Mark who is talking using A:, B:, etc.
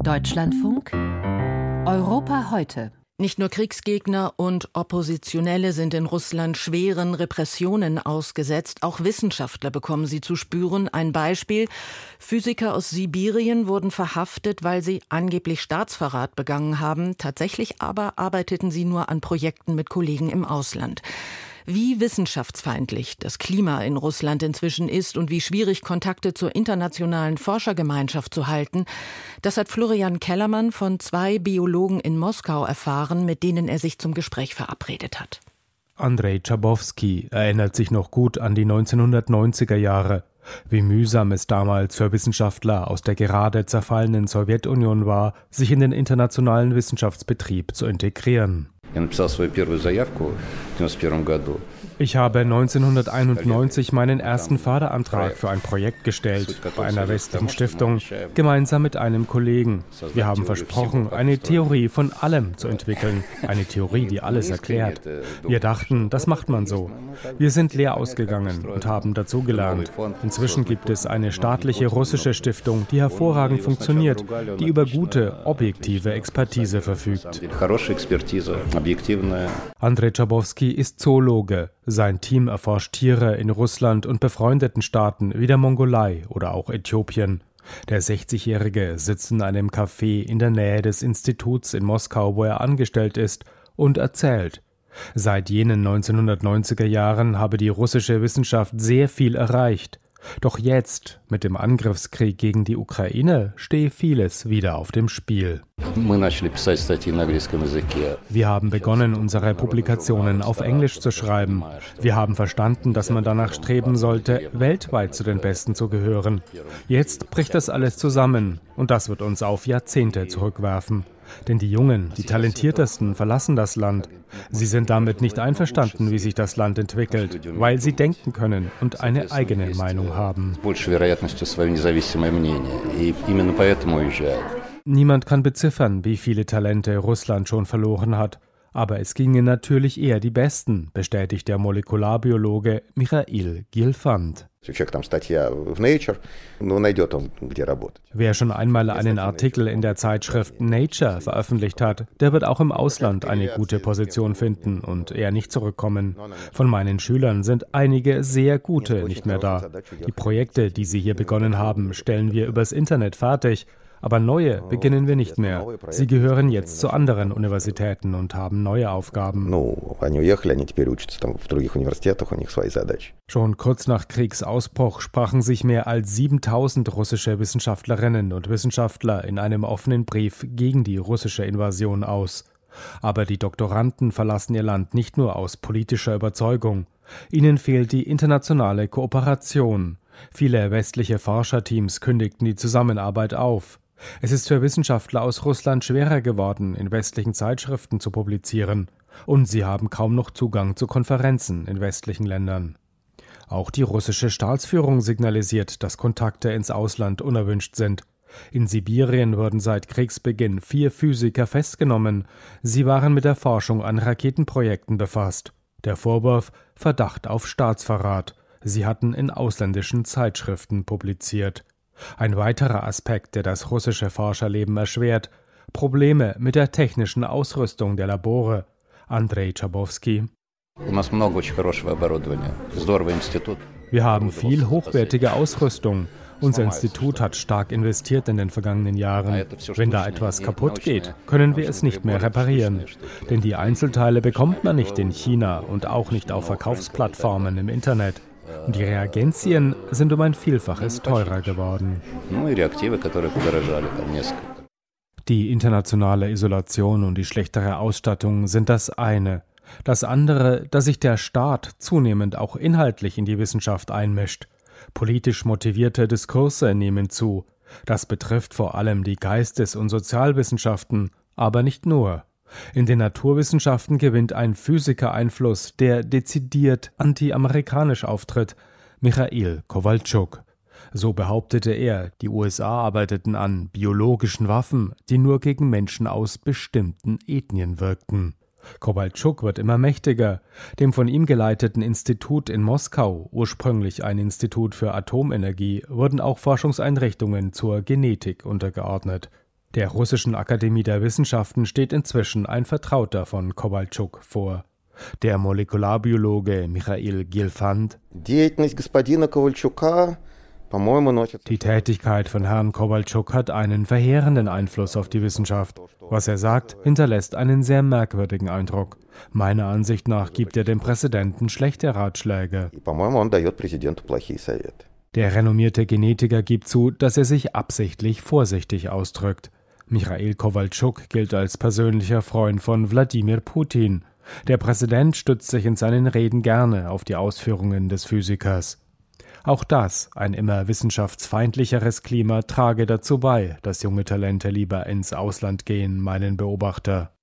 A: Deutschlandfunk Europa heute.
B: Nicht nur Kriegsgegner und Oppositionelle sind in Russland schweren Repressionen ausgesetzt, auch Wissenschaftler bekommen sie zu spüren. Ein Beispiel: Physiker aus Sibirien wurden verhaftet, weil sie angeblich Staatsverrat begangen haben. Tatsächlich aber arbeiteten sie nur an Projekten mit Kollegen im Ausland. Wie wissenschaftsfeindlich das Klima in Russland inzwischen ist und wie schwierig Kontakte zur internationalen Forschergemeinschaft zu halten, das hat Florian Kellermann von 2 Biologen in Moskau erfahren, mit denen er sich zum Gespräch verabredet hat.
C: Andrei Chabowski erinnert sich noch gut an die 1990er Jahre. Wie mühsam es damals für Wissenschaftler aus der gerade zerfallenen Sowjetunion war, sich in den internationalen Wissenschaftsbetrieb zu integrieren. Ich habe 1991 meinen ersten Förderantrag für ein Projekt gestellt, bei einer westlichen Stiftung, gemeinsam mit einem Kollegen. Wir haben versprochen, eine Theorie von allem zu entwickeln, eine Theorie, die alles erklärt. Wir dachten, das macht man so. Wir sind leer ausgegangen und haben dazugelernt. Inzwischen gibt es eine staatliche russische Stiftung, die hervorragend funktioniert, die über gute, objektive Expertise verfügt. Andrei Chabowski ist Zoologe. Sein Team erforscht Tiere in Russland und befreundeten Staaten wie der Mongolei oder auch Äthiopien. Der 60-Jährige sitzt in einem Café in der Nähe des Instituts in Moskau, wo er angestellt ist, und erzählt: Seit jenen 1990er Jahren habe die russische Wissenschaft sehr viel erreicht. Doch jetzt, mit dem Angriffskrieg gegen die Ukraine, stehe vieles wieder auf dem Spiel. Wir haben begonnen, unsere Publikationen auf Englisch zu schreiben. Wir haben verstanden, dass man danach streben sollte, weltweit zu den Besten zu gehören. Jetzt bricht das alles zusammen und das wird uns auf Jahrzehnte zurückwerfen. Denn die Jungen, die Talentiertesten verlassen das Land. Sie sind damit nicht einverstanden, wie sich das Land entwickelt, weil sie denken können und eine eigene Meinung haben. Niemand kann beziffern, wie viele Talente Russland schon verloren hat. Aber es gingen natürlich eher die Besten, bestätigt der Molekularbiologe Michail Gilfand. Wer schon einmal einen Artikel in der Zeitschrift Nature veröffentlicht hat, der wird auch im Ausland eine gute Position finden und eher nicht zurückkommen. Von meinen Schülern sind einige sehr gute nicht mehr da. Die Projekte, die sie hier begonnen haben, stellen wir übers Internet fertig. Aber neue beginnen wir nicht mehr. Sie gehören jetzt zu anderen Universitäten und haben neue Aufgaben. Schon kurz nach Kriegsausbruch sprachen sich mehr als 7000 russische Wissenschaftlerinnen und Wissenschaftler in einem offenen Brief gegen die russische Invasion aus. Aber die Doktoranden verlassen ihr Land nicht nur aus politischer Überzeugung. Ihnen fehlt die internationale Kooperation. Viele westliche Forscherteams kündigten die Zusammenarbeit auf. Es ist für Wissenschaftler aus Russland schwerer geworden, in westlichen Zeitschriften zu publizieren. Und sie haben kaum noch Zugang zu Konferenzen in westlichen Ländern. Auch die russische Staatsführung signalisiert, dass Kontakte ins Ausland unerwünscht sind. In Sibirien wurden seit Kriegsbeginn 4 Physiker festgenommen. Sie waren mit der Forschung an Raketenprojekten befasst. Der Vorwurf: Verdacht auf Staatsverrat. Sie hatten in ausländischen Zeitschriften publiziert. Ein weiterer Aspekt, der das russische Forscherleben erschwert: Probleme mit der technischen Ausrüstung der Labore. Andrei Chabowski: Wir haben viel hochwertige Ausrüstung. Unser Institut hat stark investiert in den vergangenen Jahren. Wenn da etwas kaputt geht, können wir es nicht mehr reparieren. Denn die Einzelteile bekommt man nicht in China und auch nicht auf Verkaufsplattformen im Internet. Und die Reagenzien sind um ein Vielfaches teurer geworden. Die internationale Isolation und die schlechtere Ausstattung sind das eine. Das andere, dass sich der Staat zunehmend auch inhaltlich in die Wissenschaft einmischt. Politisch motivierte Diskurse nehmen zu. Das betrifft vor allem die Geistes- und Sozialwissenschaften, aber nicht nur. In den Naturwissenschaften gewinnt ein Physiker Einfluss, der dezidiert anti-amerikanisch auftritt: Michail Kowalczuk. So behauptete er, die USA arbeiteten an biologischen Waffen, die nur gegen Menschen aus bestimmten Ethnien wirkten. Kowalczuk wird immer mächtiger. Dem von ihm geleiteten Institut in Moskau, ursprünglich ein Institut für Atomenergie, wurden auch Forschungseinrichtungen zur Genetik untergeordnet. Der Russischen Akademie der Wissenschaften steht inzwischen ein Vertrauter von Kowalczuk vor. Der Molekularbiologe Michail Gelfand: Die Tätigkeit von Herrn Kowalczuk hat einen verheerenden Einfluss auf die Wissenschaft. Was er sagt, hinterlässt einen sehr merkwürdigen Eindruck. Meiner Ansicht nach gibt er dem Präsidenten schlechte Ratschläge. Der renommierte Genetiker gibt zu, dass er sich absichtlich vorsichtig ausdrückt. Michail Kowalczuk gilt als persönlicher Freund von Wladimir Putin. Der Präsident stützt sich in seinen Reden gerne auf die Ausführungen des Physikers. Auch das, ein immer wissenschaftsfeindlicheres Klima, trage dazu bei, dass junge Talente lieber ins Ausland gehen, meinen Beobachter.